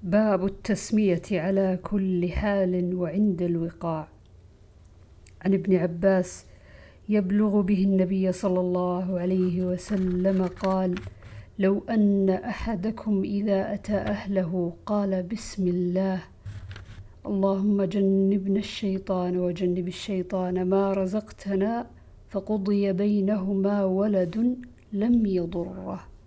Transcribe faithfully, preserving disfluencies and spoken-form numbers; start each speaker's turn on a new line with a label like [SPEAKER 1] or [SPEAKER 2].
[SPEAKER 1] باب التسمية على كل حال وعند الوقاع. عن ابن عباس يبلغ به النبي صلى الله عليه وسلم قال: لو أن أحدكم إذا أتى أهله قال بسم الله اللهم جنبنا الشيطان وجنب الشيطان ما رزقتنا فقضي بينهما ولد لم يضره.